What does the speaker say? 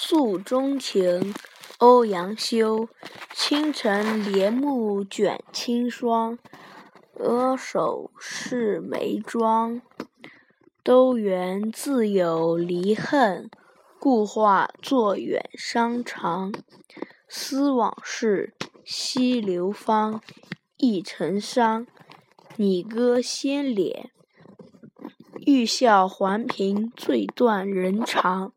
诉衷情，欧阳修。清晨帘幕卷轻霜，额首是眉庄。都缘自有离恨，故话作远商长。思往事，西流芳，亦成伤。拟歌先敛，欲笑还颦，最断人肠。